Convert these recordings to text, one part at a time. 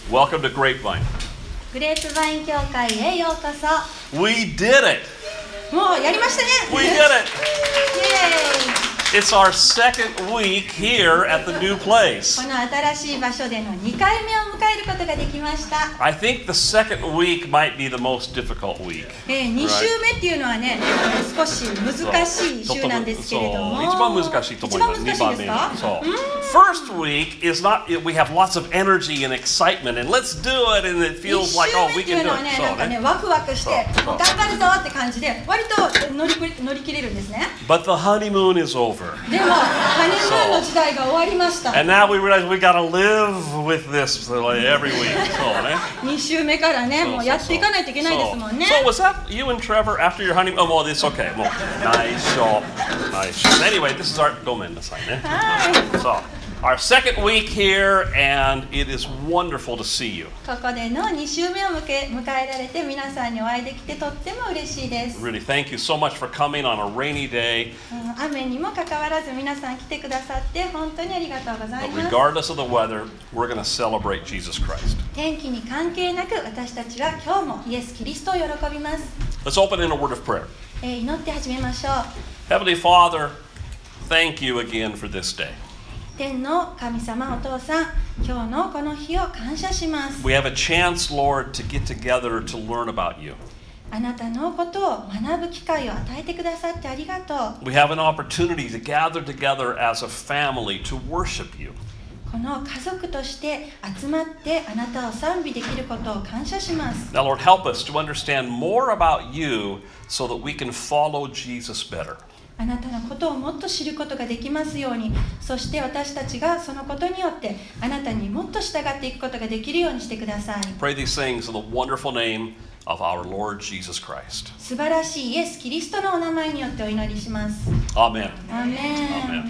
Welcome to Grapevine. グレープバイン教会へようこそ。 We did it! もうやりましたね。 We did it! イエーイ。 It's our second week here at the new place. この新しい場所での2回目を迎えることができました。 I think the second week might be the most difficult week. 2週目っていうのはね、少し難しい週なんですけれども。 一番難しいと思います。 一番難しいですか？ そう。First week is not, we have lots of energy and excitement and let's do it and it feels like, oh, we 1週目ってい can う do のはね、なんか it. ね、ワクワクしてそう頑張るぞって感じで割と乗り切れるんですね。 But the honeymoon is over. でもハニムーンの時代が終わりました。 And now we realize we got to live with this every week. そうね。 2週目からね、もうやっていかないといけないですもんね。 So was that you and Trevor after your honeymoon? Oh, well, it's okay. もう内緒。内緒。Anyway, this is our ごめんなさいね。 はい。 So, our second week here, and it is wonderful to see you. ここでの2週目を迎えられて皆さんにお会いできてとっても嬉しいです。 Really, thank you so much for coming on a rainy day. 雨にもかかわらず皆さん来てくださって本当にありがとうござい But ます。 regardless of the weather, we're going to celebrate Jesus Christ. 天気に関係なく私たちは今日もイエス・キリストを喜びます。 Let's open in a word of prayer. 祈って始めましょう。 Heavenly Father, thank you again for this day. 天の神様お父さん、今日のこの日を感謝します。 We have a chance, Lord, to get together to learn about you. あなたのことを学ぶ機会を与えてくださってありがとう。 We have an opportunity to gather together as a family to worship you. この家族として集まってあなたを賛美できることを感謝します。 Now, Lord, help us to understand more about you so that we can follow Jesus better. あなたのことをもっと知ることができますように、そして私たちがそのことによってあなたにもっと従っていくことができるようにしてください。 Pray these things in the wonderful name of our Lord Jesus Christ. 素晴らしいイエス・キリストのお名前によってお祈りします。 Amen. アーメン。 Amen.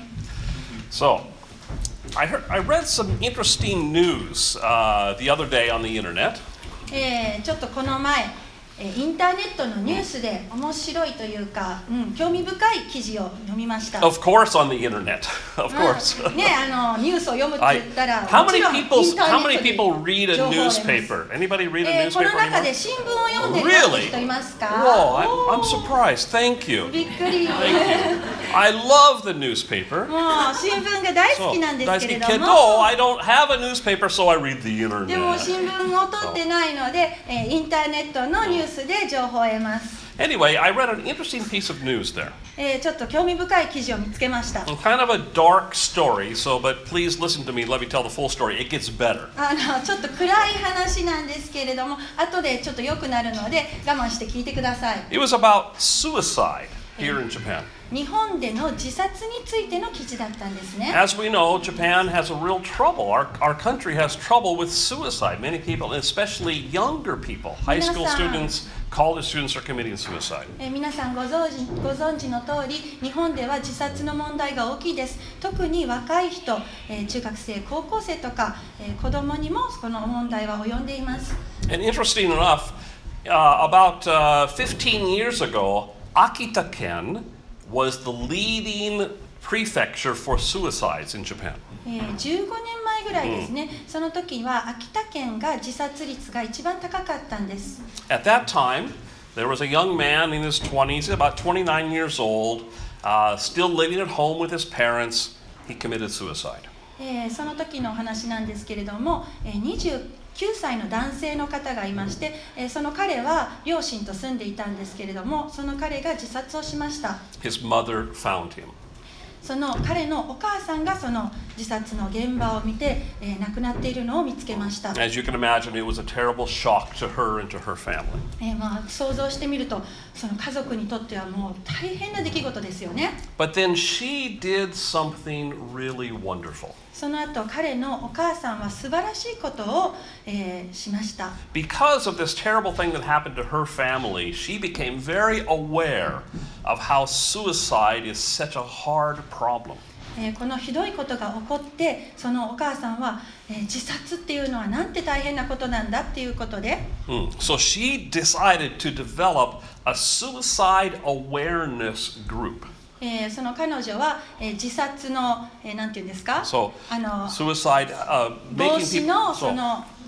So, I read some interesting news the other day on the internet. ちょっとこの前インターネットのニュースで面白いというか、興味深い記事を読みました。 Of course, on the internet. Of course. ね、ニュースを読むって言ったら、 How もち many ろんインターネット how many で people read a 情報を得ます。 newspaper? Anybody read a この newspaper 中 anymore? で新聞を読んでる Really? 人いますか？ Whoa, I'm surprised. Thank you. びっくり。 Thank you. I love the newspaper. もう新聞が大好きなんですけれども、 I don't have a newspaper, so I read the でも internet. 新聞を取ってないので、インターネットのニュースで情報を得ます。 Anyway, I read an interesting piece of news there. ちょっと興味深い記事を見つけました。 Kind of a dark story, but please listen to me. Let me tell the full story. It gets better. ちょっと暗い話なんですけれども、後でちょっと良くなるので我慢して聞いてください。 It was about suicide here in Japan. 日本での自殺についての記事だったんですね。 As we know, Japan has a real trouble. Our country has trouble with suicide. Many people, especially younger people, high school students, college students are committing suicide. 皆さんご存知の通り、日本では自殺の問題が大きいです。特に若い人、中学生、高校生とか、子供にもこの問題は及んでいます。 And interesting enough, about 15 years ago, Akita-ken was the leading prefecture for suicides in Japan. 15年前ぐらいですね、その時は秋田県が自殺率が一番高かったんです。 At that time, there was a young man in his 20s, about 29 years old, still living at home with his parents. He committed suicide. その時のお話なんですけれども、29歳の男性の方がいまして、その彼は両親と住んでいたんですけれども、その彼が自殺をしました。 His mother found him. その彼のお母さんがその自殺の現場を見て、亡くなっているのを見つけました。 As you can imagine, it was a terrible shock to her and to her family. 想像してみると、その家族にとってはもう大変な出来事ですよね。 But then she did something really wonderful. その後彼のお母さんは素晴らしいことを、しました。 Because of this terrible thing that happened to her family, she became very aware of how suicide is such a hard problem. このひどいことが起こって、そのお母さんは、自殺っていうのはなんて大変なことなんだっていうことで、 So she decided to develop a suicide awareness group. その彼女は、自殺の、なんていうんですか、 So suicide, 防 making 止 people. のその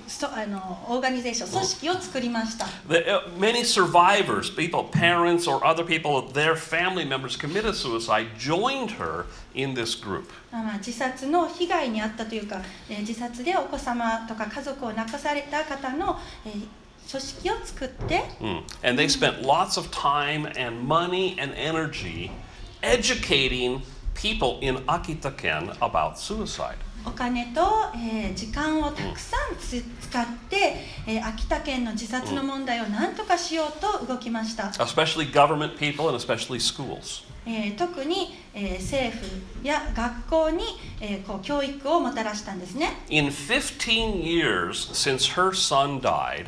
オーガニゼーション、組織を作りました。 Many survivors, people, parents or other people, their family members committed suicide, joined her in this group. 自殺の被害に遭ったというか、自殺でお子様とか家族を亡くされた方の、組織を作って、 And they spent lots of time and money and energy educating people in Akita-ken about suicide. お金と、時間をたくさん使って、秋田県の自殺の問題を何とかしようと動きました。 Especially government people and especially schools. 特に、政府や学校に、教育をもたらしたんですね。 In 15 years since her son died,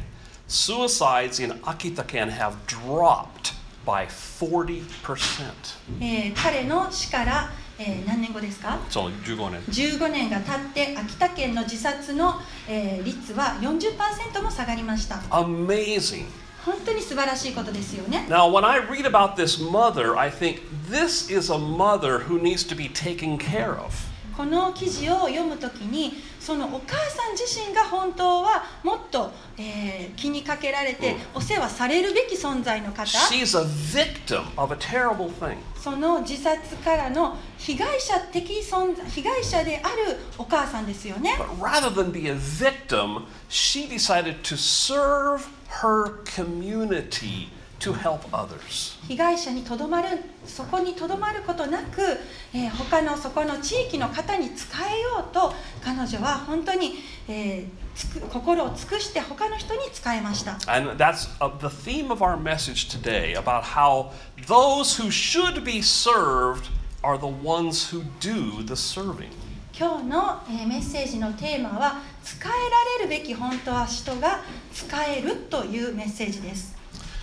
suicides in Akita-ken have dropped by 40%. 彼の死から、何年後ですか 15年。 15年が経って秋田県の自殺の、率は 40% も下がりました。 Amazing. 本当に素晴らしいことですよね。 Now, when I read about this mother, I think this is a mother who needs to be taken care of. この記事を読むときに、そのお母さん自身が本当はもっと、気にかけられて、お世話されるべき存在の方。 She's a victim of a terrible thing. その自殺からの被害者であるお母さんですよね。 But rather than be a victim, she decided to serve her community to help others. 被害者にそこにとどまることなく、他のそこの地域の方に仕えようと彼女は本当に、心を尽くして他の人に仕えました。 And that's the theme of our message today about how those who should be served are the ones who do the serving. 今日の、メッセージのテーマは仕えられるべき本当は人が仕えるというメッセージです。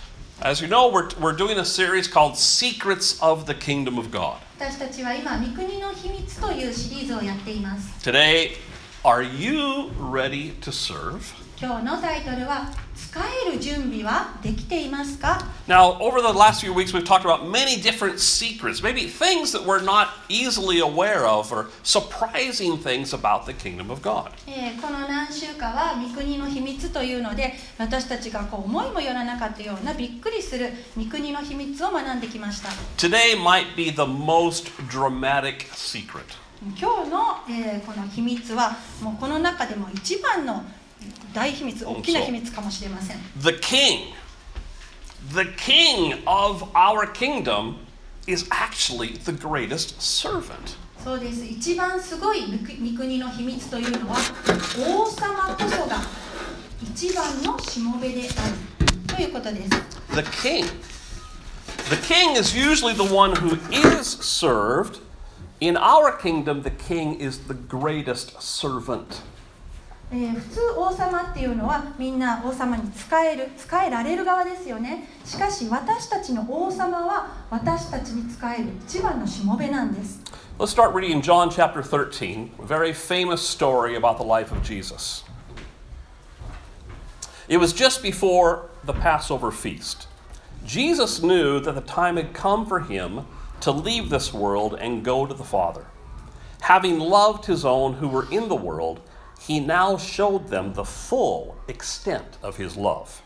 As you know, we're doing a series called Secrets of the Kingdom of God. 私たちは今、御国の秘密というシリーズをやっています。 Today, are you ready to serve? 今日のタイトルは、仕える準備はできていますか？ Now, over the last few weeks, we've talked about many different secrets, maybe things that we're not easily aware of or surprising things about the kingdom of God. この何週かは御国の秘密というので、私たちが思いもよらなかったようなびっくりする御国の秘密を学んできました。 Today might be the most dramatic secret. 今日の、この秘密はもうこの中でも一番の大秘密、大きな秘密かもしれません。 The king of our kingdom is actually the greatest servant. そうです。一番すごい御国の秘密というのは、王様こそが一番のしもべであるということです。 The king is usually the one who is served. In our kingdom, the king is the greatest servant. 普通王様っていうのはみんな王様に仕えられる側ですよね。しかし私たちの王様は私たちに仕える一番のしもべなんです。 Let's start reading in John chapter 13, a very famous story about the life of Jesus. It was just before the Passover feast. Jesus knew that the time had come for him to leave this world and go to the Father. Having loved his own who were in the world, he now showed them the full extent of his love.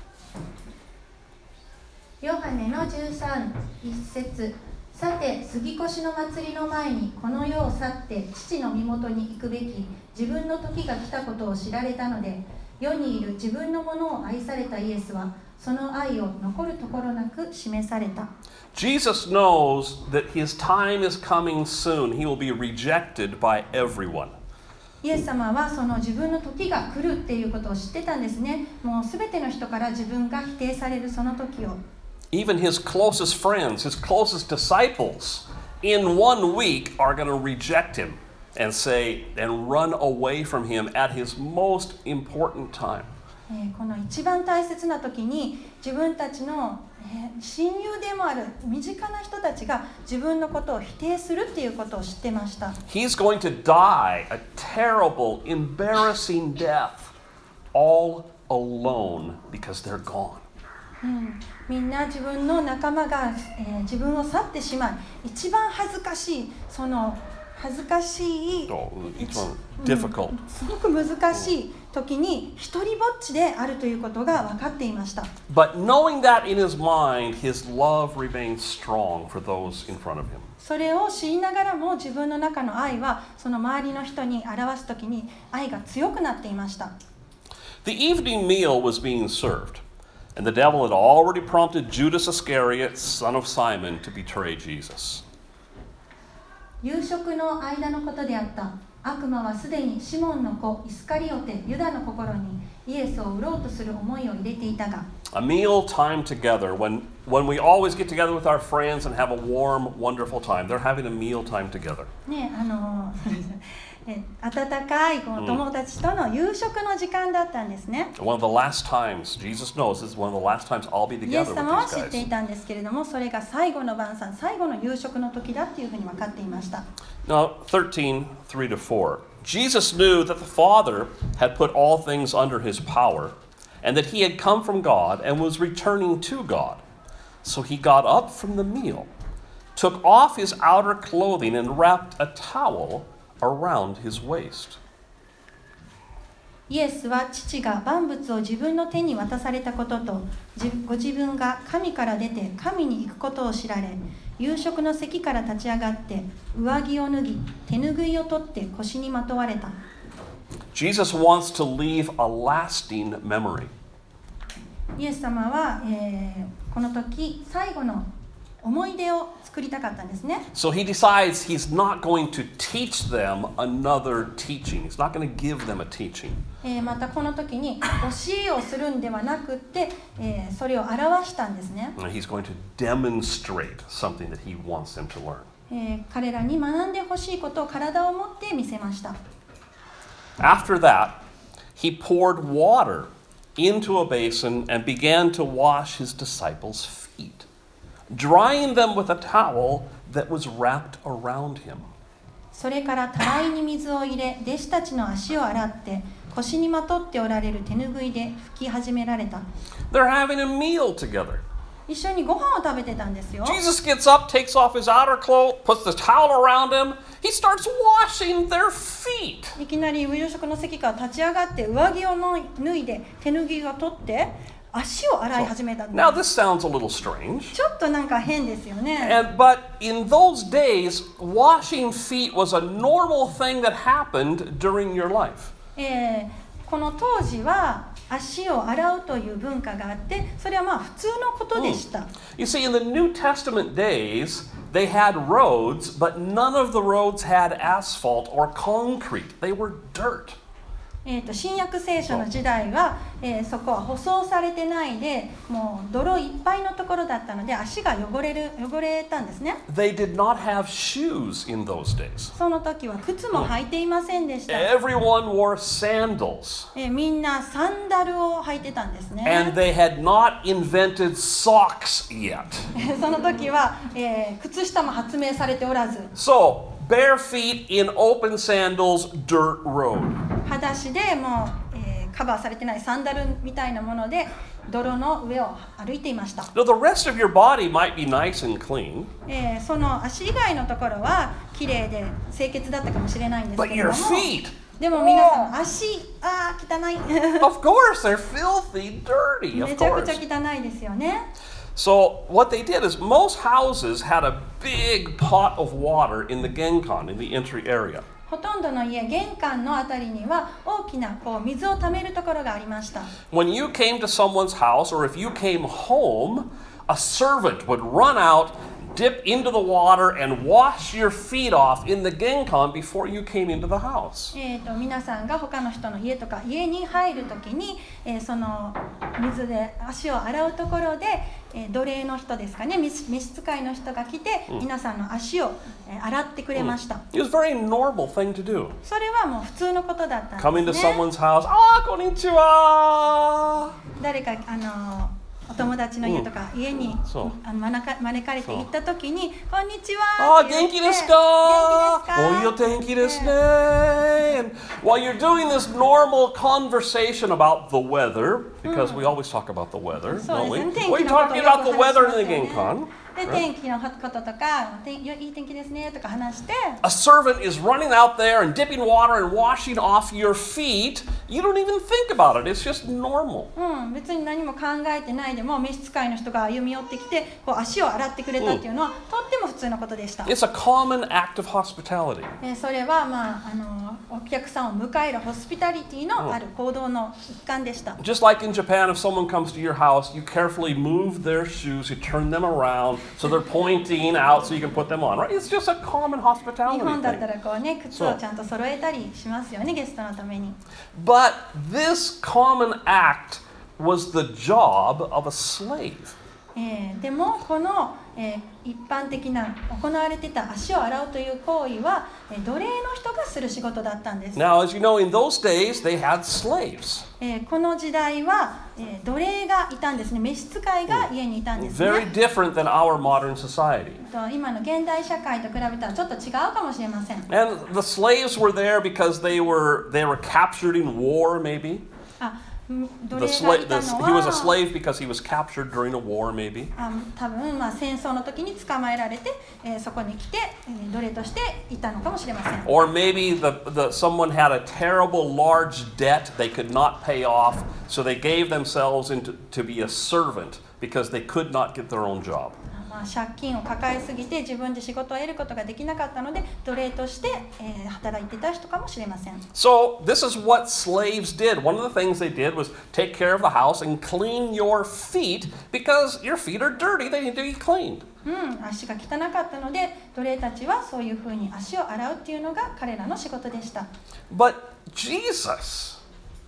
ヨハネの13、1節。さて、杉越の祭りの前にこの世を去って父の身元に行くべき自分の時が来たことを知られたので、世にいる自分のものを愛されたイエスはその愛を残るところなく示された。 Jesus knows that his time is coming soon. He will be rejected by everyone. イエス様はその自分の時が来るっていうことを知ってたんですね。もうすべての人から自分が否定されるその時を。 Even his closest friends, his closest disciples, in 1 week are going to reject him and say and run away from him at his most important time. この一番大切な時に自分たちの親友でもある身近な人たちが自分のことを否定するっていうことを知ってました。 He's going to die a terrible, embarrassing death all alone because they're gone. みんな自分の仲間が、自分を去ってしまい、一番恥ずかしいその恥ずかしい、 Oh, each one difficult. すごく難しい時に一人ぼっちであるということが分かっていました。 But knowing that in his mind, his love remained strong for those in front of him. それを知りながらも自分の中の愛はその周りの人に表す時に愛が強くなっていました。 The evening meal was being served, and the devil had already prompted Judas Iscariot, son of Simon, to betray Jesus. 夕食の間のことであった。悪魔はすでにシモンの子イスカリオテユダの心にイエスを売ろうとする思いを入れていたが、 A meal time together, when we always get together with our friends and have a warm, wonderful time. They're having a meal time together. ね、温かいこの友達との夕食の時間だったんですね。 One of the last times, Jesus knows this is one of the last times I'll be イエ together ス with 様は these 知ってい guys. たんですけれども、それが最後の晩餐、最後の夕食の時だっていうふうに分かっていました。 Now, 13, 3-4. Jesus knew that the Father had put all things under his power, and that he had come from God and was returning to God. So he got up from the meal, took off his outer clothing, and wrapped a towel around his waist. イエスは父が万物を自分の手に渡されたことと、ご自分が神から出て神に行くことを知られ、夕食の席から立ち上がって上着を脱ぎ、手拭いを取って腰にまとわれた。 Jesus wants to leave a lasting memory. イエス様は、この時最後の思い出を作りたかったんですね。 So he decides he's not going to teach them another teaching. He's not going to give them a teaching. またこの時に教えをするんではなくて、それを表したんですね。 And he's going to demonstrate something that he wants them to learn. 彼らに学んでほしいことを体を持って見せました。 After that, he poured water into a basin and began to wash his disciples' feet, drying them with a towel that was wrapped around him. それからたらいに水を入れ、弟子たちの足を洗って腰にまとっておられる手ぬぐいで拭き始められた。 They're having a meal together. 一緒にご飯を食べてたんですよ。 Jesus gets up, takes off his outer clothes, puts the towel around him. He starts washing their feet. いきなり夕食の席から立ち上がって上着を脱いで手ぬぐいを取って足を洗い始めたんです。 Now this sounds a little strange. ちょっとなんか変ですよね。 But in those days, washing feet was a normal thing that happened during your life. この当時は足を洗うという文化があって、それはまあ普通のことでした。 You see, in the New Testament days, they had roads, but none of the roads had asphalt or concrete. They were dirt. 新約聖書の時代は、そこは舗装されてないで、もう泥いっぱいのところだったので足が汚れたんですね。 They did not have shoes in those days. その時は靴も履いていませんでした。 Everyone wore sandals. みんなサンダルを履いてたんですね。 And they had not invented socks yet. その時は、靴下も発明されておらず、 So, bare feet in open sandals, dirt road. 裸足でもう、カバーされてないサンダルみたいなもので泥の上を歩いていました。 Now, the rest of your body might be nice and clean, その足以外のところは綺麗で清潔だったかもしれないんですけ but れど your も、 feet, でも皆さん足汚い of course, they're filthy, dirty, め of ちゃくちゃ course. 汚いですよね。 So, what they did is most houses had a big pot of water in the genkan, in the entry area. ほとんどの家、玄関のあたりには大きな水をためるところがありました。 When you came to someone's house, or if you came home, a servant would run out, dip into the water, and wash your feet off in the genkan before you came into the house. 皆さんが他の人の家とか家に入るときに、その水で足を洗うところで、奴隷の人ですかね、召使いの人が来て、皆さんの足を、洗ってくれました。 It was a very normal thing to do. それはもう普通のことだったん Come で into すね。 someone's house, konnichiwa! 誰かお友達の家とか家にそう招かれて行ったときに、こんにちは。 元気ですか？いいお天気ですね。And while you're doing this normal conversation about the weather, because we always talk about the weather, そう don't です we? ね。天 We're 気のことを talking よく about the weather in 話 the しますよね。 genkan. で、天気のこととか、いい天気ですねとか話して。 A servant is running out there and dipping water and washing off your feet. You don't even think about it. It's just normal. 別に何も考えてないでも召使いの人が歩み寄ってきてこう足を洗ってくれたっていうのは、とっても普通のことでした。 It's a common act of hospitality. それは、お客さんを迎えるホスピタリティのある行動の一環でした。 Just like in Japan, if someone comes to your house, you carefully move their shoes, you turn them around so they're pointing out so you can put them on, right? It's just a common 日 hospitality 本だった thing. らこうね、靴をちゃんと揃えたりしますよね、ゲストのために。 But this common act was the job of a slave. でもこの、一般的な行われていた足を洗うという行為は、奴隷の人がする仕事だったんです。 Now, as you know, in those days, they had slaves. この時代は、奴隷がいたんですね。召使いが家にいたんですね。 Very different than our modern society. 今の現代社会と比べたらちょっと違うかもしれません。 And the slaves were there because they were captured in war, maybe. 奴隷がいたの He was a は slave because he was captured during a war, maybe. 多分戦争の時に捕まえられて、そこに来て、奴隷としていたのかもしれません。 Or maybe someone had a terrible large debt they could not pay off, so they gave themselves to be a servant because they could not get their own job. 借金を抱えすぎて自分で仕事を得ることができなかったので奴隷として、働いていた人かもしれません。 So this is what slaves did. One of the things they did was take care of the house and clean your feet because your feet are dirty. They need to be cleaned. 足が汚かったので奴隷たちはそういうふうに足を洗うっていうのが彼らの仕事でした。 But Jesus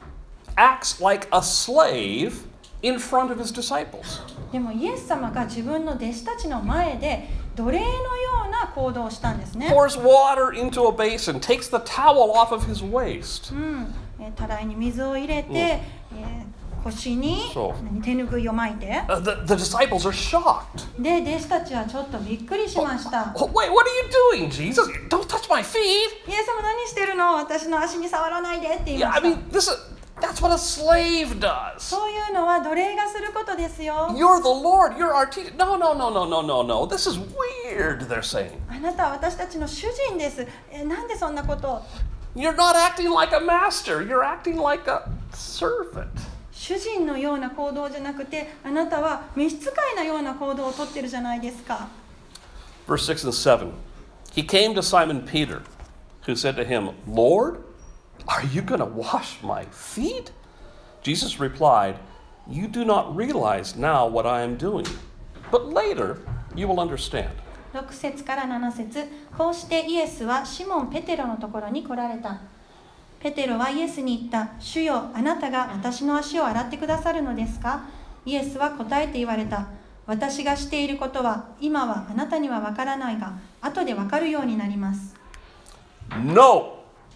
acts like a slave in front of his disciples. でもイエス様が自分の弟子たちの前で奴隷のような行動をしたんですね。 Pours water into a basin, takes the towel off of his waist. たらいに水を入れて、腰に手ぬぐいを巻いて、 The disciples are shocked. で弟子たちはちょっとびっくりしました。 Wait, what are you doing, Jesus? Don't touch my feet. イエス様何してるの？私の足に触らないでって言い Yeah, ま I した。 mean, that's what a slave does. そういうのは奴隷がすることですよ。 You're the Lord, you're our teacher. No. This is weird, they're saying. あなたは私たちの主人です。なんでそんなことを？ You're not acting like a master, you're acting like a servant. 主人のような行動じゃなくて、あなたは召使いのような行動をとってるじゃないですか。 Verse 6 and 7. He came to Simon Peter, who said to him, Lord, are you going to wash my feet? Jesus replied, You do not realize now what I am doing, but later you will understand. 6節から7節。こうしてイエスはシモン・ペテロのところに来られた。ペテロはイエスに言った。主よ、あなたが私の足を洗ってくださるのですか？イエスは答えて言われた。私がしていることは今はあなたにはわからないが、後でわかるようになります。 No,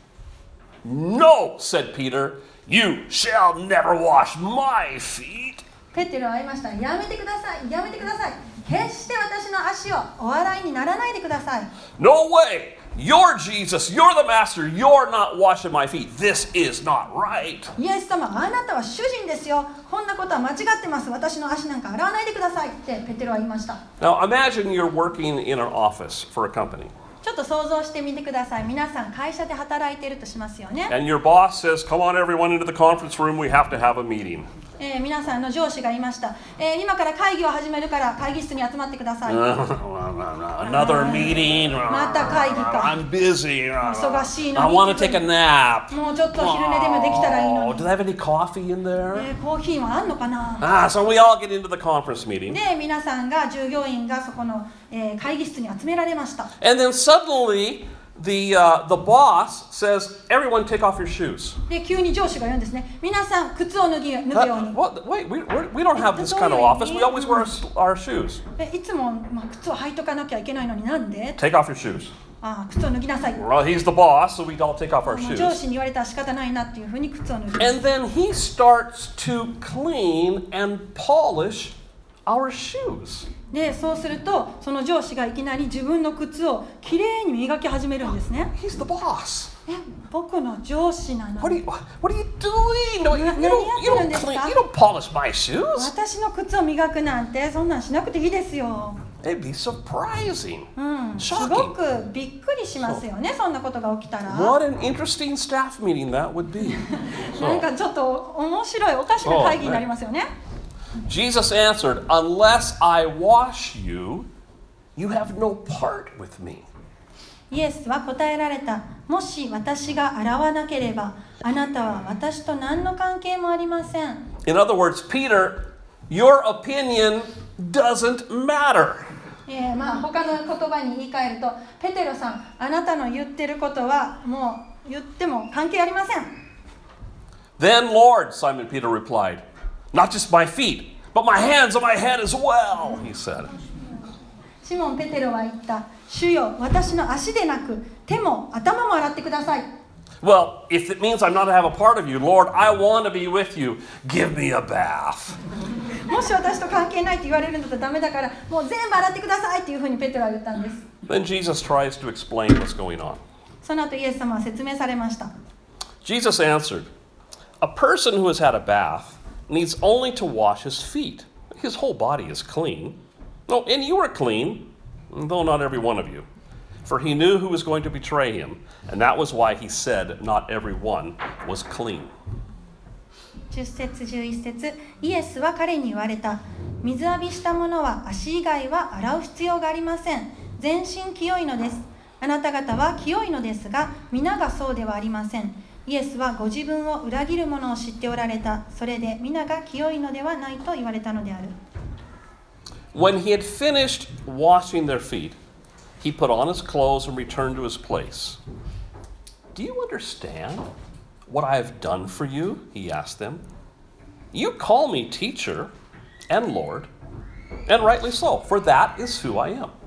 said Peter, you shall never wash my feet. ペテロは言いました。やめてください、やめてください。決して私の足をお洗いにならないでください。 No way. You're Jesus. You're the master. You're not washing my feet. This is not right. イエス様、あなたは主人ですよ。こんなことは間違ってます。私の足なんか洗わないでくださいってペテロは言いました。 Now imagine you're working in an office for a company. ちょっと想像してみてください。皆さん会社で働いているとしますよね。 And your boss says, come on everyone into the conference room. We have to have a meeting. 皆さんの上司がいました。今から会議を始めるから会議室に集まってください。 Another meeting. また会議か。 I'm busy. 忙しいの I に。 want to take a nap. もうちょっと昼寝でもできたらいいの Oh, に。 do they have any coffee in there? コーヒーはあんのかな。 So we all get into the conference meeting. で、皆さんが従業員がそこの、会議室に集められました。 And then suddenly the boss says, everyone take off your shoes. で、急に上司が言うんですね。皆さん靴を脱ぐように。 Wait, we don't have this kind of office. We always wear our shoes. いつも、靴を履いとかなきゃいけないのになんで？ Take off your shoes. 靴を脱ぎなさい。 Well, he's the boss, so we all take off our 上 shoes. 司に言われたら仕方ないなっていうふうに靴を脱ぐ。 And then he starts to clean and polish our shoes. で、そうするとその上司がいきなり自分の靴をきれいに磨き始めるんですね。 He's the boss. 僕の上司なの。 What are you doing? No, you don't polish my shoes. 私の靴を磨くなんてそんなんしなくていいですよ。 It'd be surprising. すご Shocking. くびっくりしますよね、そんなことが起きたら。 What an interesting staff meeting that would be. なんかちょっと面白いおかしな会議になりますよね。 Jesus answered, Unless I wash you, you have no part with me. イエスは答えられた。もし私が洗わなければ、あなたは私と何の関係もありません。 In other words, Peter, your opinion doesn't matter. 他の言葉に言い換えると、ペテロさん、あなたの言ってることはもう言っても関係ありません。 Then, Lord, Simon Peter replied, Not just my feet, but my hands and my head as well, he said. シモン・ペテロは言った。主よ、私の足でなく、手も頭も洗ってください。 Well, if it means I'm not to have a part of you, Lord, I want to be with you. Give me a bath. もし私と関係ないって言われるんだったらダメだから、もう全部洗ってくださいっていうふうにペテロは言ったんです。 Then Jesus tries to explain what's going on. その後イエス様は説明されました。 Jesus answered, A person who has had a bath needs only to wash his feet. His whole body is clean. No, and you are clean, though not every one of you. For he knew who was going to betray him, and that was why he said not every one was clean. 10節11節イエスは彼に言われた。水浴びした者は足以外は洗う必要がありません。全身清いのです。あなた方は清いのですが、皆がそうではありません。イエスはご自分を裏切る者を知っておられた。それで皆が清いのではないと言われたのである。 When he had finished washing their feet, he put on his clothes and returned to his place. Do you understand what I have done for you? He asked them. You call me teacher and Lord, and rightly so, for that is who I am.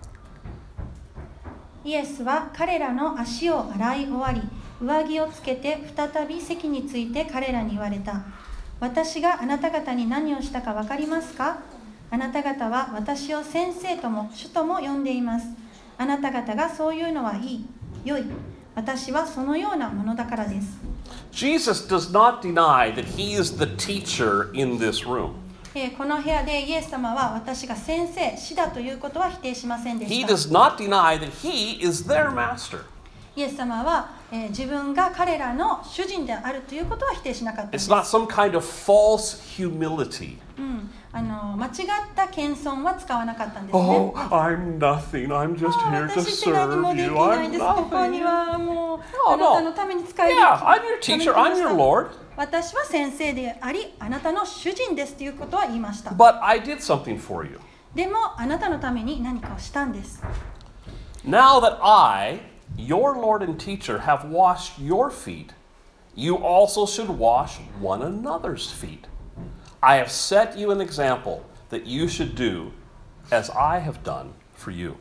イエスは彼らの足を洗い終わり、上着をつけて再び席について彼らに言われた。私があなた方に何をしたか分かりますか？あなた方は私を先生とも主とも呼んでいます。あなた方がそういうのはいい、良い。私はそのようなものだからです。 Jesus does not deny that he is the teacher in this room. この部屋でイエス様は私が先生、師だということは否定しませんで He した。 does not deny that he is their master. イエス様は、自分が彼らの主人であるということは否定しなかったんで It's す。 not some kind of false humility. 間違った謙遜は使わなかったんですね。 Oh, I'm nothing. I'm just here to 私って何も serve でき you. ない I'm です。ここに nothing. はもう Oh, あなたのために使える。 Yeah, I'm your teacher. I'm your Lord. 私は先生であり、あなたの主人ですということは言いました。 But I did something for you. でもあなたのために何かをしたんです。 Now that I, your Lord and teacher, have washed your feet, you also should wash one another's feet. I have set you an example that you should do as I have done for you.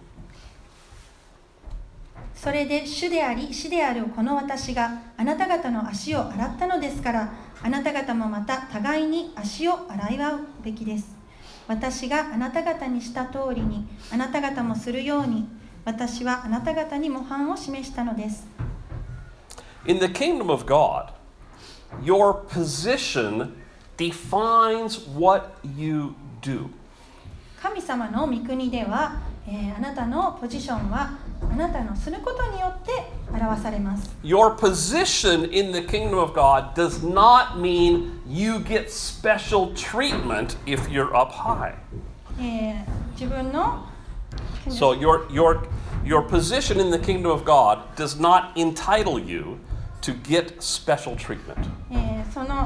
それで主であり師であるこの私があなた方の足を洗ったのですから、あなた方もまた互いに足を洗い合うべきです。私があなた方にした通りにあなた方もするように、私はあなた方に模範を示したのです。 In the kingdom of God, your position defines what you do. 神様の御国では、あなたのポジションはあなたのすることによって表されます。 Your position in the kingdom of God does not mean you get special treatment if you're up high. 自分の So your position in the kingdom of God does not entitle you to get special treatment. その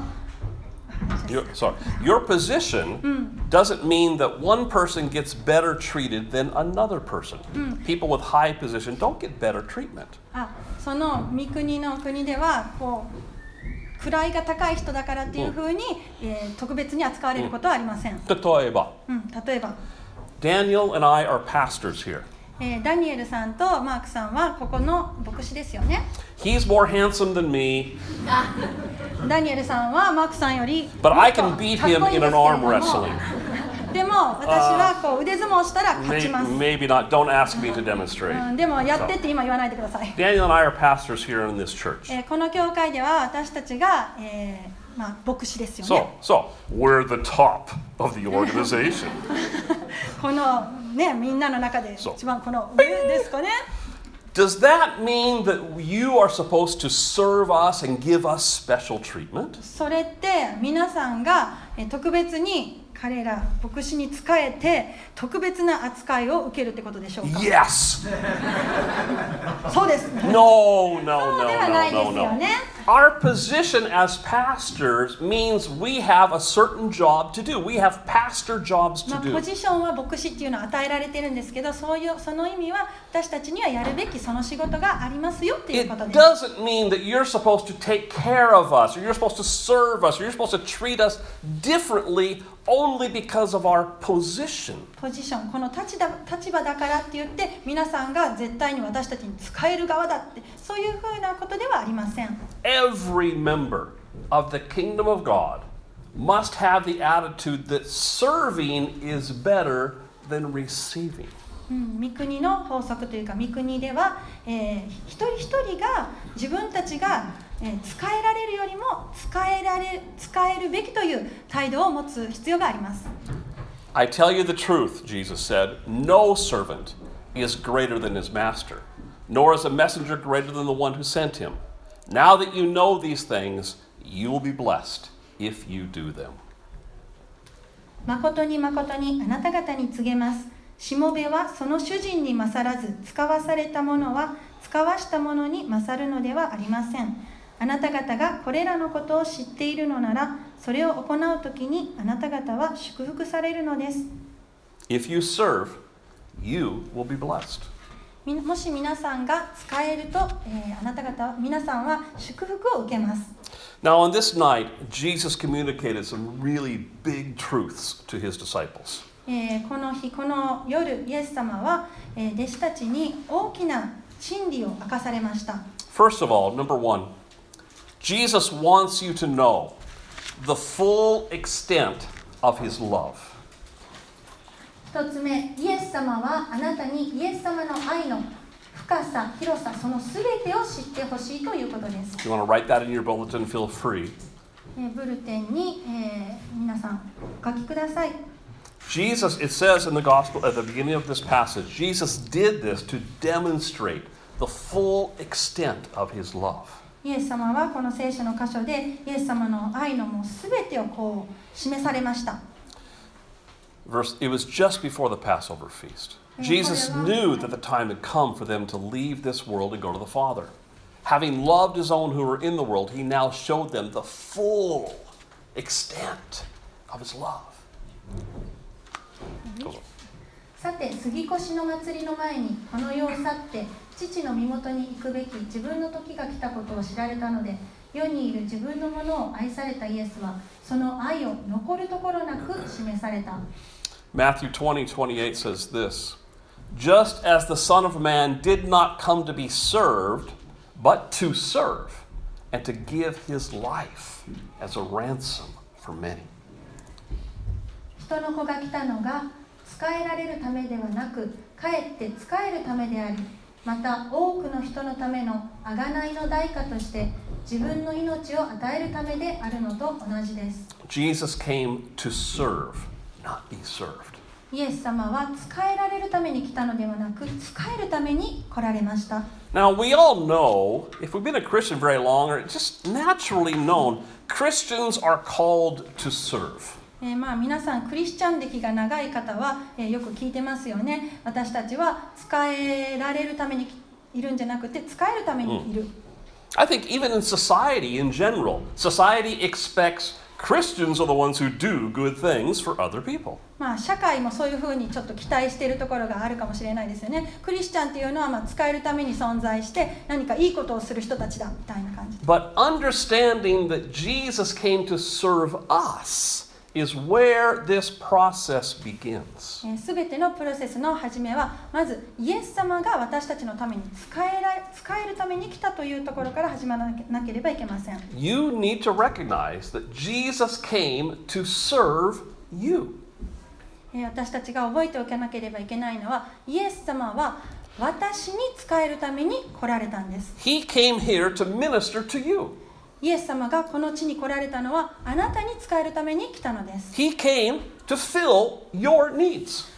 Your position doesn't mean that one person gets better treated than another person. People with high position don't get better treatment. その御国の国ではこう位が高い人だからっていうふうに、特別に扱われることはありません。 例えば、 例えば Daniel and I are pastors here. ダニエルさんとマークさんはここの牧師ですよね。 He's more handsome than me, ダニエルさんはマークさんより but I can beat him in an arm wrestling. でも私はこう腕相撲したら勝ちます。 Maybe not. Don't ask me to demonstrate. でもやってって今言わないでください。 Daniel and I are pastors here in this church. この教会では私たちが、牧師ですよね。 So we're the top of the organization. このね、みんなの中で一番この上ですかね。 Does that mean that you are supposed to serve us and give us special treatment? それって皆さんが特別に彼ら牧師に仕えて特別な扱いを受けるってことでしょうか。 Yes. そうです。 No, そう no, では no, ないで no, すよ no, ね。 no. Our position as pastors means we have a certain job to do. We have pastor jobs to ポ do. ジションは牧師っていうのは与えられてるんですけど、その意味は私たちにはやるべきその仕事がありますよっていう It ことです。 doesn't mean that you're supposed to take care of us, or you're supposed to serve us, or you're supposed to treat us differently only because of our position. ポジション、この立場だからって言って皆さんが絶対に私たちに使える側だってそういうふうなことではありません。 Every member of the kingdom of God must have the attitude that serving is better than receiving. 御国の法則というか御国では、一人一人が自分たちが、使えられるよりも使えるべきという態度を持つ必要があります。 I tell you the truth, Jesus said, no servant is greater than his master, nor is a messenger greater than the one who sent him. Now that you know these things, you will be blessed if you do them. 誠に誠にあなた方に告げます。しもべはその主人に勝らず、使わされたものは使わしたものに勝るのではありません。あなた方がこれらのことを知っているのなら、それを行うときにあなた方は祝福されるのです。 If you serve, you will be blessed. もし皆さんが使えると、あなた方皆さんは祝福を受けます。 Now, on this night, Jesus communicated some really big truths to his disciples. この日、この夜、イエス様は、弟子たちに大きな真理を明かされました。 First of all, number one, Jesus wants you to know the full extent of his love. 一つ目、イエス様はあなたにイエス様の愛の深さ、広さ、そのすべてを知ってほしいということです。 If you want to write that in your bulletin, feel free. ブルテンに、皆さんお書きください。 Jesus, it says in the gospel at the beginning of this passage, Jesus did this to demonstrate the full extent of his love. イエス様はこの聖書の箇所でイエス様の愛のもうすべてをこう示されました。 It was just before the Passover feast. Jesus knew that the time had come for them to leave this world and go to the Father. Having loved his own who were in the world, he now showed them the full extent of his love. さて、杉越の祭りの前にこの世を去って父の身元に行くべき自分の時が来たことを知られたので、世にいる自分のものを愛されたイエスはその愛を残るところなく示された。 Matthew 20:28 says this, just as the Son of Man did not come to be served, but to serve, and to give his life as a ransom for many. 人の子が来たのが使えられるためではなく、かえって使えるためであり、また多くの人のための贖いの代価として自分の命を与えるためであるのと同じです。 Jesus came to serve, not be served. イエス様は使えられるために来たのではなく、使えるために来られました。 Now, we all know, if we've been a Christian very long, or it's just naturally known, Christians are called to serve. 皆さんクリスチャン歴が長い方は、よく聞いてますよね。私たちは使えられるためにいるんじゃなくて使えるためにいる。 I think even in society in general, society expects Christians are the ones who do good things for other people. 社会もそういうふうにちょっと期待しているところがあるかもしれないですよね。クリスチャンっていうのは使えるために存在して何かいいことをする人たちだみたいな感じ。 But understanding that Jesus came to serve us is where this process begins. すべてのプロセスの始めはまずイエス様が私たちのために使えるために来たというところから始まらなければいけません。 You need to recognize that Jesus came to serve you. 私たちが覚えておかなければいけないのは、イエス様は私に使えるために来られたんです。 He came here to minister to you. イエス様がこの地に来られたのはあなたに使えるために来たのです。 He came to fill your needs.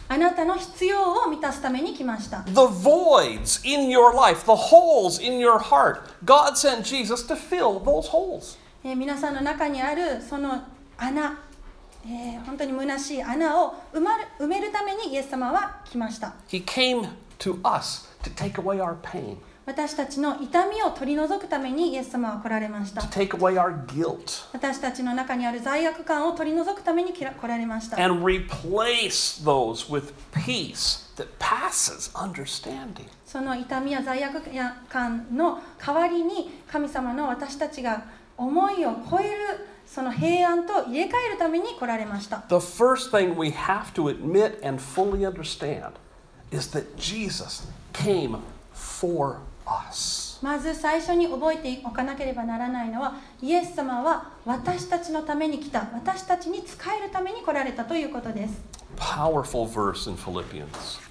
あなたの必要を満たすために来ました。 The voids in your life, the holes in your heart, God sent Jesus to fill those holes. 皆さんの中にあるその穴、本当に虚しい穴を埋めるためにイエス様は来ました。 He came to us to take away our pain, 私たちの痛みを取り除くためにイエス様は来られました。 to take away our guilt, 私たちの中にある罪悪感を取り除くために来られました。 and replace those with peace that passes understanding. その痛みや罪悪感の代わりに神様の私たちが思いを超えるその平安と入れ替えるために来られました。 The first thing we have to admit and fully understand is that Jesus came for us. まず最初に覚えておかなければならないのは、イエス様は私たちのために来た、私たちに仕えるために来られたということです。 Powerful verse in Philippians.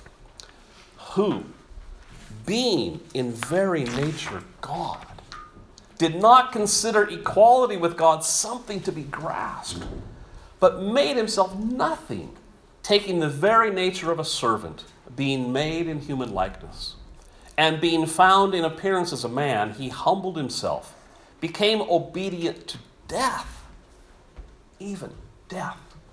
Who, being in very nature God, did not consider equality with God something to be grasped, but made himself nothing, taking the very nature of a servant, being made in human likeness. And being found in appearance as a man, he humbled himself, became obedient to death, even death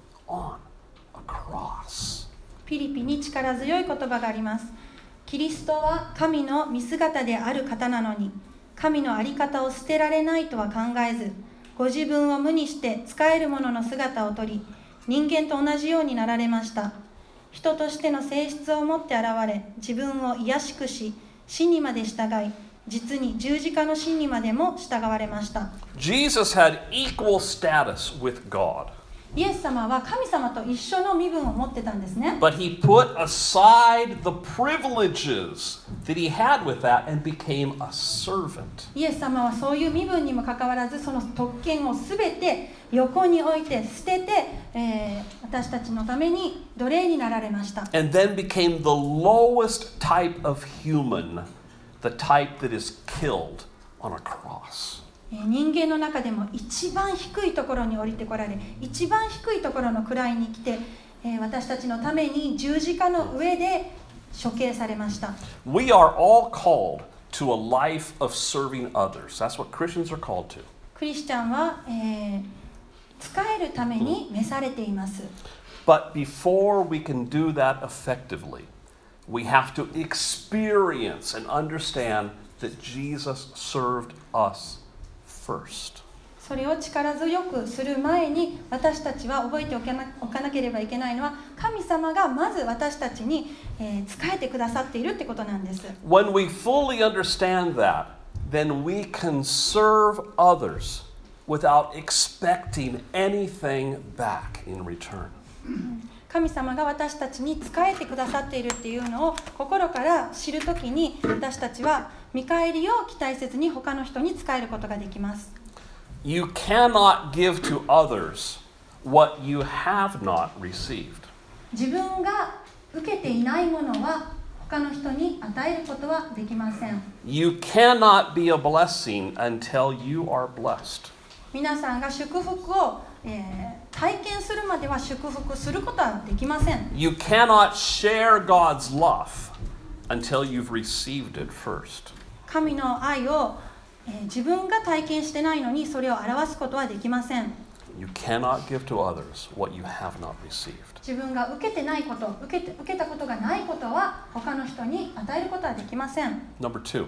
on a cross. ピリピに力強い言葉があります。キリストは神の見姿である方なのに、神の在り方を捨てられないとは考えず、ご自分を無にして仕える者の姿をとり、人間と同じようになられました。人としての性質を持って現れ、自分を卑しくし、死にまで従い、実に十字架の死にまでも従われました。 Jesus had equal status with God. イエス様は神様と一緒の身分を持ってたんですね。 But he put aside the privileges that he had with that and became a servant. イエス様はそういう身分にもかかわらず、その特権をすべて横に置いて捨てて、私たちのために奴隷になられました。 And then became the lowest type of human, the type that is killed on a cross. 人間の中でも一番低いところに降りてこられ、一番低いところの位に来て、私たちのために十字架の上で処刑されました。 We are all called to a life of serving others. That's what Christians are called to. クリスチャンは、仕えるために召されています。 But before we can do that effectively, we have to experience and understand that Jesus served us first. それを力強くする前に、私たちは覚えておかなければいけないのは、神様がまず私たちに、仕えてくださっているってことなんです。 When we fully understand that, then we can serve others without expecting anything back in return. 神様が私たちに仕えてくださっているっていうのを心から知るときに、私たちは見返りを期待せずに他の人に仕えることができます。 You cannot give to others what you have not received. 自分が受けていないものは他の人に与えることはできません。 You cannot be a blessing until you are blessed. 皆さんが祝福を、体験するまでは祝福することはできません。 You cannot share God's love until you've received it first. 神の愛を、自分が体験してないのにそれを表すことはできません。 You cannot give to others what you have not received. 自分が受けてないこと、受けたことがないことは他の人に与えることはできません。 Number 2.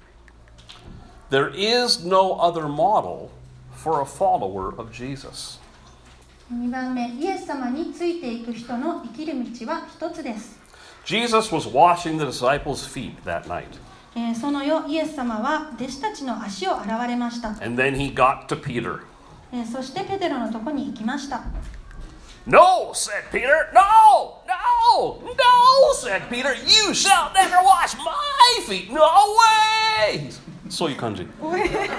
There is no other model for a follower of Jesus. 2番目、イエス様についていく人の生きる道は一つです。 Jesus was washing the disciples' feet that night. その夜、イエス様は弟子たちの足を洗われました。 And then he got to Peter. そしてペテロのとこに行きました。 No, said Peter. No, no, no, said Peter. You shall never wash my feet. No way. そういう感じ。No.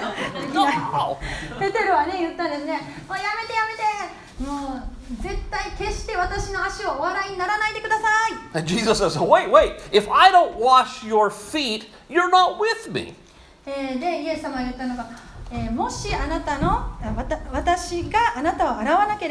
ペテロはね、言ったんですね。もうやめてやめて。もう絶対決して私の足をお洗いにならないでください。 And Jesus says, wait, if I don't wash your feet, you're not with me. で、イエス様が言ったのが、もしあなたの私があなたを洗わなければ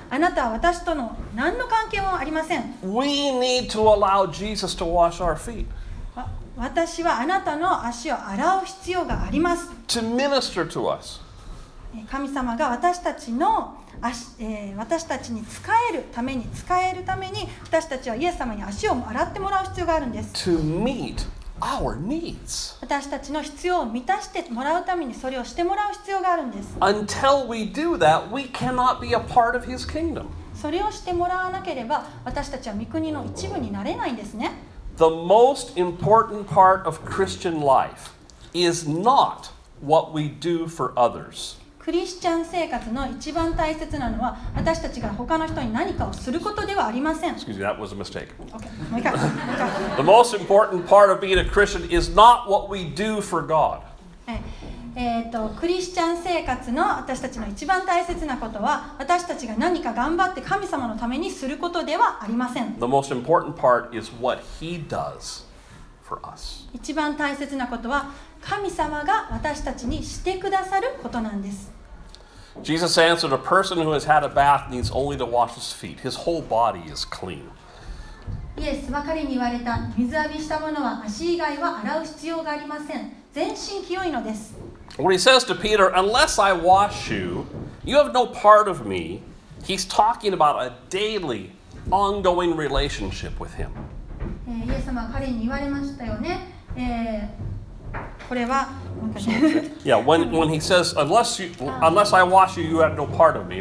あなたは私との何の関係もありません。 We need to allow Jesus to wash our feet, 私はあなたの足を洗う必要があります。 to minister to us. 神様が私たちの私たちに使えるために私たちはイエス様に足を洗ってもらう必要があるんです。 To meet our needs. 私たちの必要を満たしてもらうためにそれをしてもらう必要があるんです。 Until we do that, we cannot be a part of His kingdom. それをしてもらわなければ私たちは御国の一部になれないんですね。 The most important part of Christian life is not what we do for others. クリスチャン生活の一番大切なのは私たちが他の人に何かをすることではありません。 Excuse me, that was a mistake. Okay, もう一回。 The most important part of being a Christian is not what we do for God. クリスチャン生活の私たちの一番大切なことは私たちが何か頑張って神様のためにすることではありません。 The most important part is what He does for us. 一番大切なことは神様が私たちにしてくださることなんです。 Jesus answered, a person who has had a bath needs only to wash his feet. His whole body is clean. イエスは彼に言われた。水浴びしたものは足以外は洗う必要がありません。全身清いのです。 When he says to Peter, unless I wash you, you have no part of me, he's talking about a daily, ongoing relationship with him. イエス様は彼に言われましたよね。これは Yeah, when he says, unless I wash you, you have no part of me,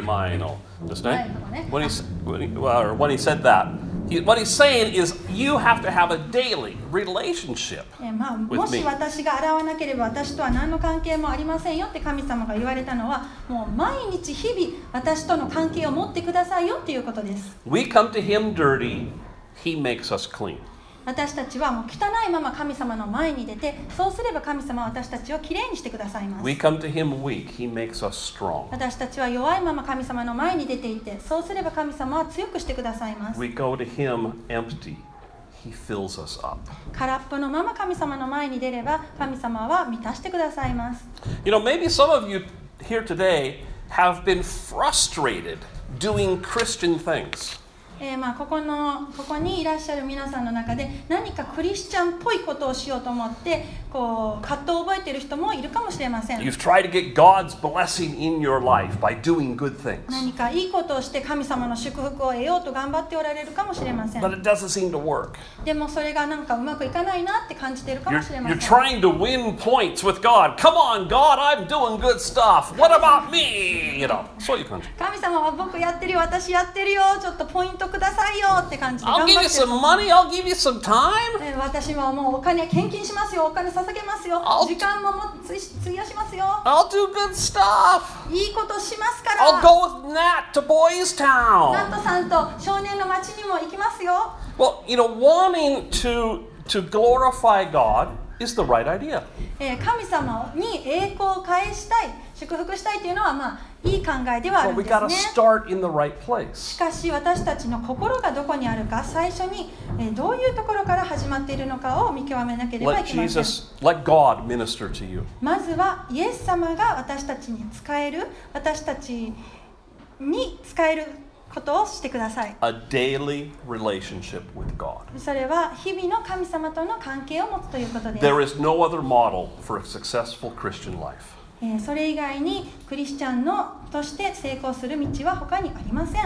when he said that, what he's saying is you have to have a daily relationship もし私が洗わなければ私とは何の関係もありませんよって神様が言われたのはもう毎日日々私との関係を持ってくださいよっていうことです。 We come to him dirty, he makes us clean. 私たちはもう汚いまま神様の前に出てそうすれば神様は私たちをきれいにしてくださいます。 We come to him weak, he makes us strong. 私たちは弱いまま神様の前に出ていってそうすれば神様は強くしてくださいます。 We go to him empty, he fills us up. 空っぽのまま神様の前に出れば神様は満たしてくださいます。 You know, maybe some of you here today have been frustrated doing Christian things. ここにいらっしゃる皆さんの中で何かクリスチャンっぽいことをしようと思って葛藤を覚えている人もいるかもしれません。 You've tried to get God's blessing in your life by doing good things. 何かいいことをして神様の祝福を得ようと頑張っておられるかもしれません。 But it doesn't seem to work. でもそれがなんかうまくいかないなって感じているかもしれませ You're ん。 trying to win points with God. Come on, God, I'm doing good stuff. What about me? You know, そういう感じ。 神様は僕やってるよ、私やってるよ、ちょっとポイントくださいよって感じで I'll 頑 give 張 you ってる。 some money, I'll give you some time. 私はもうお金献金しますよ、お金捧げますよ、 I'll- 時間も費やしますよ、 I'll do good stuff. いいことしますか I'll ら。 go with Nat to Boys ナッ Town. トさんと少年の町にも行きますよ。 Well, you know, wanting to glorify God is the right idea. 神様に栄光を返したい、祝福したいというのはいい考えではあ But るん we で got to すね。 start in the right place. しかし私たちの心がどこにあるか、最初にどういうところから始まっているのかを見極めなければい Let けません。 let God minister to you. まずはイエス様が私たちに使える、私たちに使えることをしてください。 A daily relationship with God. それは日々の神様との関係を持つということです。 There is no other model for a successful Christian life. それ以外にクリスチャンとして成功する道は他にありません。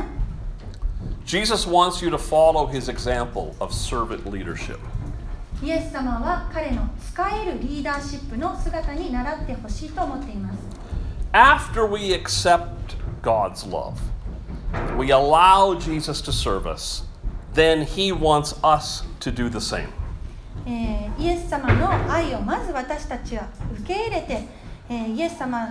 Jesus wants you to follow his example of servant leadership. イエス様は彼の使えるリーダーシップの姿に倣ってほしいと思っています。 After we accept God's love, we allow Jesus to serve us, then he wants us to do the same. イエス様の愛をまず私たちは受け入れて、イエス様、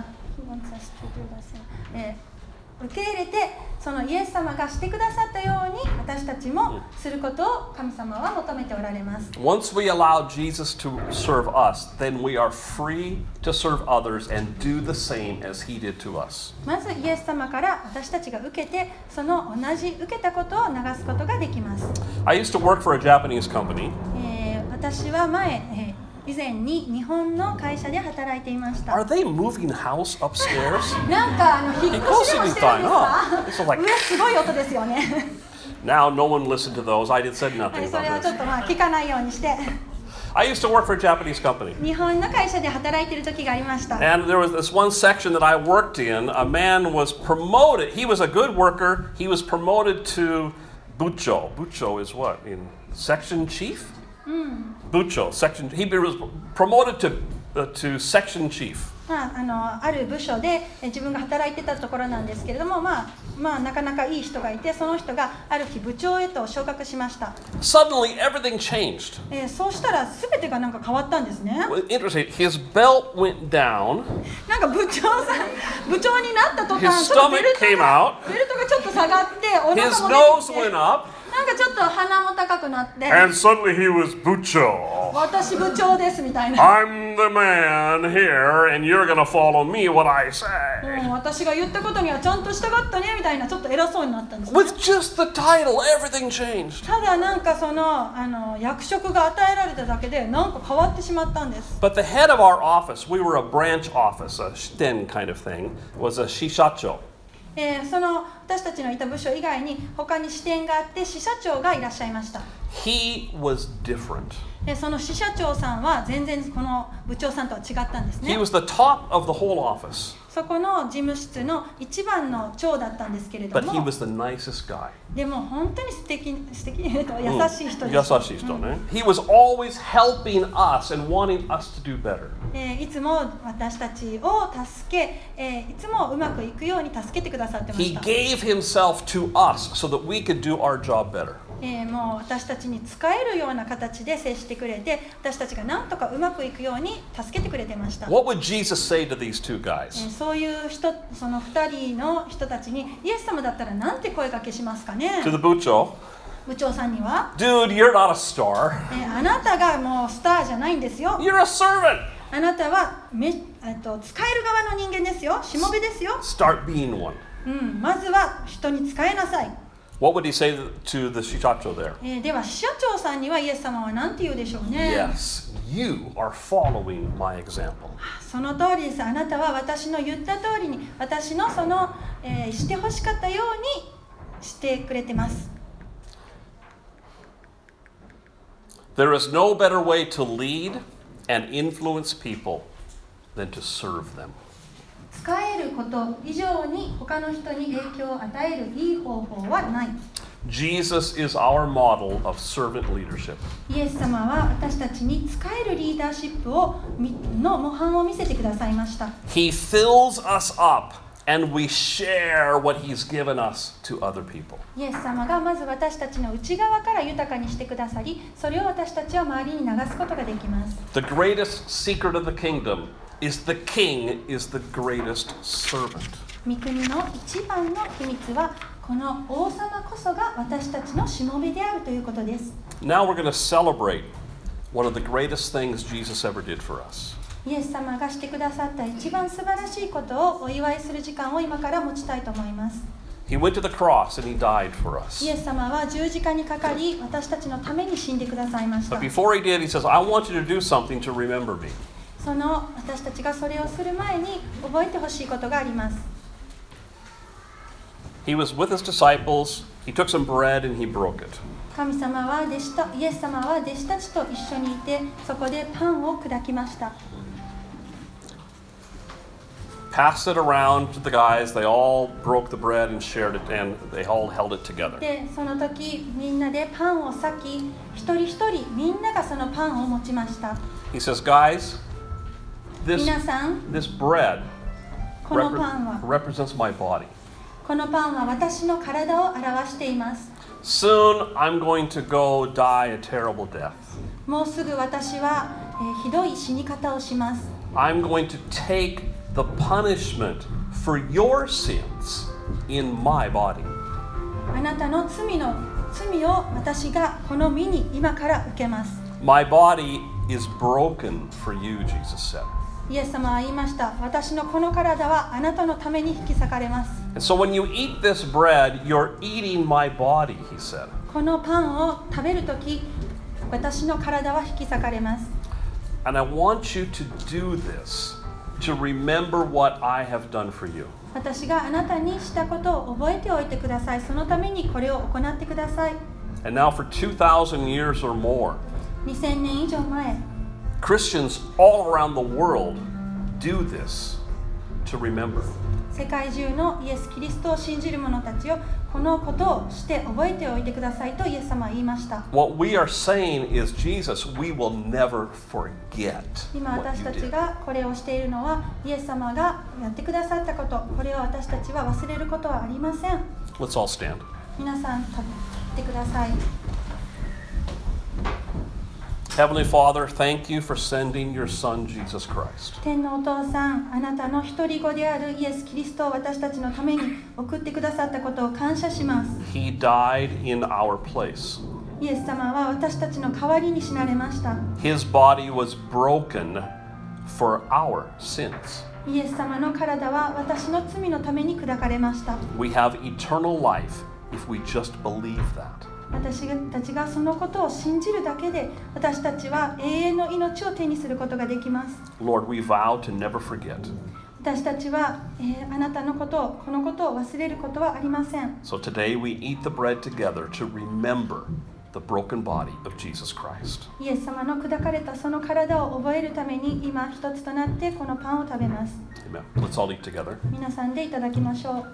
受け入れて、そのイエス様がしてくださったように私たちもすることを神様は求めておられます。 Once we allow Jesus to serve us, then we are free to serve others and do the same as he did to us. まずイエス様から私たちが受けて、その同じ受けたことを流すことができます。 I used to work for a Japanese company. 私は前、 以前に日本の会社で働いていました。 Are they moving house upstairs? なんか引っ越しでもしてるんですか？上すごい音ですよね。 Now no one listened to those. I said は nothing い、それ about はちょ this. っと聞かないようにして。 I used to work for a Japanese company. 日本の会社で働いている時がありました。 And there was this one section that I worked in. A man was promoted. He was a good worker. He was promoted to bucho. Bucho is what? In section chief? Bucho, section. He was promoted to section chief. ある部署で自分が働いてたところなんですけれども、なかなかいい人がいて、その人がある日部長へと昇格しました。 Suddenly, everything changed. そうしたら全てがなんか変わったんですね。 Interesting. His belt went down. なんか部長になった途 His 端、ちょっとベ stomach ルト came が out. ちょっと下がって、お腹 His も nose 出てき went て、 up. なんかちょっと鼻も高くなって、 And suddenly he was bucho. 私部長ですみたいな。 I'm the man here, and you're gonna follow me what I say. 私が言ったことにはちゃんと従ったねみたいな、ちょっと偉そうになったんです、ね。 With just the title, everything changed. ただなんかその役職が与えられただけでなんか変わってしまったんです。 But the head of our office, we were a branch office, a shiten kind of thing, was a shishacho. その私たちのいた部署以外に他に支店があって支社長がいらっしゃいました。 He was different. その支社長さんは全然この部長さんとは違ったんです He ね。 was the top of the whole office, そこの事務室の一番の長だったんですけれど but he も、 was the nicest guy. でも本当に優しい人でした。 He was always helping us and wanting us to do better. いつも私たちを助け、いつもうまくいくように助けてくださってま He した。 gave himself to us so that we could do our job better. もう私たちに使えるような形で接してくれて、私たちがなんとかうまくいくように助けてくれてました。 What would Jesus say to these two guys? そういう人、その2人の人たちにイエス様だったらなんて声かけしますかね。 To the bucho, 部長さんには、 dude, you're not a star. あなたがもうスターじゃないんですよ。 You're a servant. あなたは使える側の人間ですよ。しもべですよ。 Start being one. まずは人に使えなさい。 What would he say to the shishacho there? では支社長さんにはイエス様は何て言うでしょうね。 Yes, you are following my example. その通りです。あなたは私の言った通りに、私のしてほしかったようにしてくれてます。 There is no better way to lead and influence people than to serve them. 使えること以上に他の人に影響を与えるいい方法はない。 Jesus is our model of servant leadership. イエス様は私たちに使えるリーダーシップの模範を見せてくださいました。 He fills us up and we share what he's given us to other people. イエス様がまず私たちの内側から豊かにしてくださり、それを私たちは周りに流すことができます。 The greatest secret of the kingdom is the king is the greatest servant. 御国の一番の秘密は、この王様こそが私たちのしもべであるということです。 Now we're going to celebrate one of the greatest things Jesus ever did for us. イエス様がしてくださった一番素晴らしいことをお祝いする時間を今から持ちたいと思います。 He went to the cross and he died for us. イエス様は十字架にかかり、私たちのために死んでくださいました。 But before he did, he says, I want you to do something to remember me. その私たちがそれをする前に覚えてほしいことがあります。 He was with his disciples. He took some bread and he broke it. 神様はイエス様は弟子たちと一緒にいて、そこでパンを砕きました。 Passed it around to the guys. They all broke the bread and shared it, and they all held it together. で、その時みんなでパンを裂き、一人一人みんながそのパンを持ちました。 He says, guys, 皆さん、 this bread このパンは represents my body. このパンは私の体を表しています。 Soon I'm going to go die a terrible death. もうすぐ私は、ひどい死に方をします。 I'm going to take the punishment for your sins in my body. あなたの罪を私がこの身に今から受けます。 My body is broken for you, Jesus said. イエス様は言いました。私のこの体はあなたのために引き裂かれます。 And so when you eat this bread, you're eating my body, he said. このパンを食べるとき、私の体は引き裂かれます。 And I want you to do this to remember what I have done for you. 私があなたにしたことを覚えておいてください。そのためにこれを行ってください。 And now for 2,000 years or more, 2000年以上前、 Christians all around the world do this to remember. 世界中のイエス・キリストを信じる者たちをこのことをして覚えておいてくださいとイエス様は言いました。 What we are saying is, Jesus, we will never forget 今 what 私 you たち did. がこれをしているのはイエス様がやってくださったこと、これを私たちは忘れることはありません。 Let's all stand. 皆さん立ってください。 Heavenly Father, thank you for sending your Son, Jesus Christ. 天のお父さん、あなたの一人子であるイエス・キリストを私たちのために送ってくださったことを感謝します。 He died in our place. イエス様は私たちの代わりに死なれました。 His body was broken for our sins. イエス様の体は私の罪のために砕かれました。 We have eternal life if we just believe that. 私たちがそのことを信じるだけで私たちは永遠の命を手にすることができます。 Lord, we vow to never forget. 私たちは、あなたのことを、このことを忘れることはありません。 So today we eat the bread together to remember the broken body of Jesus Christ. イエス様の砕かれたその体を覚えるために今一つとなってこのパンを食べます。 Amen. Let's all eat together. 皆さんでいただきましょう。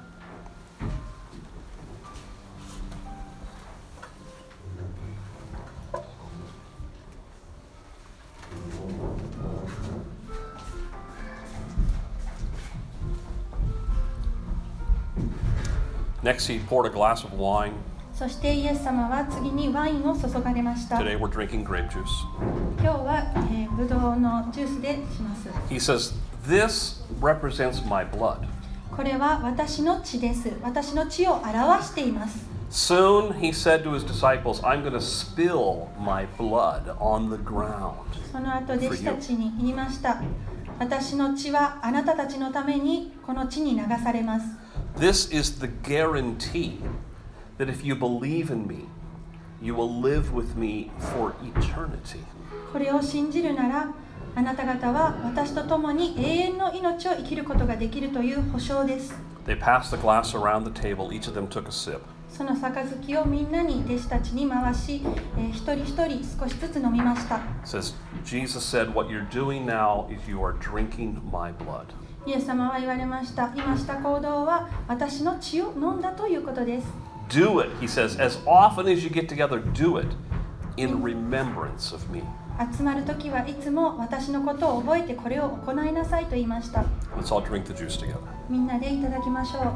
Next, he poured a glass of wine. そしてイエス様は次にワインを注がれました。 Today we're drinking grape juice. 今日は、ブドウのジュースでします。 He says, "This represents my blood." これは私の血です。私の血を表しています。 Soon he said to his disciples, "I'm going to spill my blood on the ground." その後弟子たちに言いました。私の血はあなたたちのためにこの地に流されます。 This is the guarantee that if you believe in me, you will live with me for eternity. これを信じるなら、あなた方は私と共に永遠の命を生きることができるという保証です。 They passed the glass around the table. Each of them took a sip. その杯をみんなに弟子たちに回し、一人一人少しずつ飲みました。 It says, Jesus said, "What you're doing now is you are drinking my blood." イエス様は言われました。今した行動は私の血を飲んだということです。 Do it, he says, as often as you get together, do it in remembrance of me. 集まるときはいつも私のことを覚えてこれを行いなさいと言いました。 Let's all drink the juice together. みんなでいただきましょう。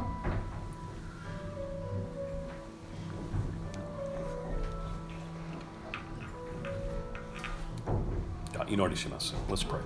祈りします。Let's pray.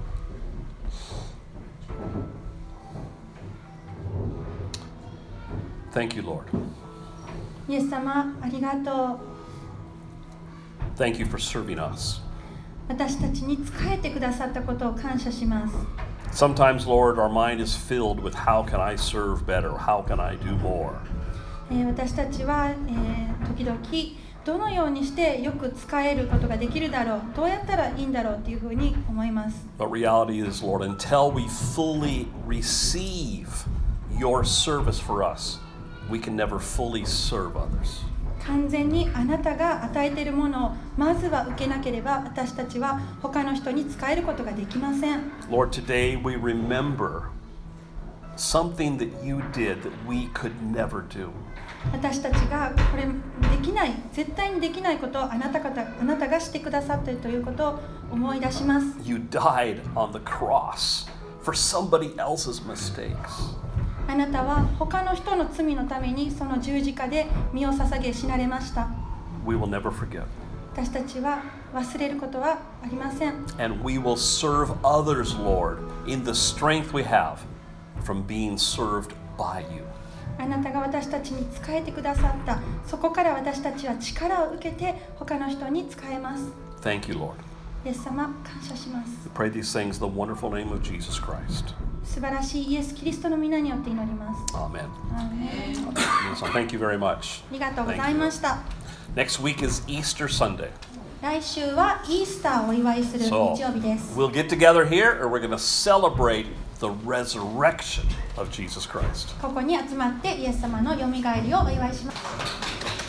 Thank you, Lord. イエス様、ありがとう。 Thank you for serving us. 私たちに仕えてくださったことを感謝します。 Sometimes, Lord, our mind is filled with how can I serve better? How can I do more? 私たちは、時々どのようにしてよく使えることができるだろう、どうやったらいいんだろうっていうふうに思います。 But reality is, Lord, until we fully receive your service for us, we can never fully serve others. 完全にあなたが与えているものをまずは受けなければ私たちは他の人に使えることができません。 Lord, today we remember something that you did that we could never do. 私たちがこれできない、絶対にできないことをあなたがしてくださっているということを思い出します。 You died on the cross for somebody else's mistakes. あなたは他の人の罪のためにその十字架で身を捧げ死なれました。 We will never forget. 私たちは忘れることはありません。 And we will serve others, Lord, in the strength we have from being served by you. あなたが私たちに仕えてくださった、そこから私たちは力を受けて他の人に仕えます。 Thank you, Lord. イエス様、感謝します。 We pray these things in the wonderful name of Jesus Christ. 素晴らしいイエス・キリストの皆によって祈ります。 Amen. アーメン。 So thank you very much. ありがとうございました。 Next week is Easter Sunday. 来週はイースターをお祝いする日 So 曜日です。 we'll get together here, or we're going to celebrate the resurrection of Jesus Christ. ここに集まってイエス様のよみがえりをお祝いします。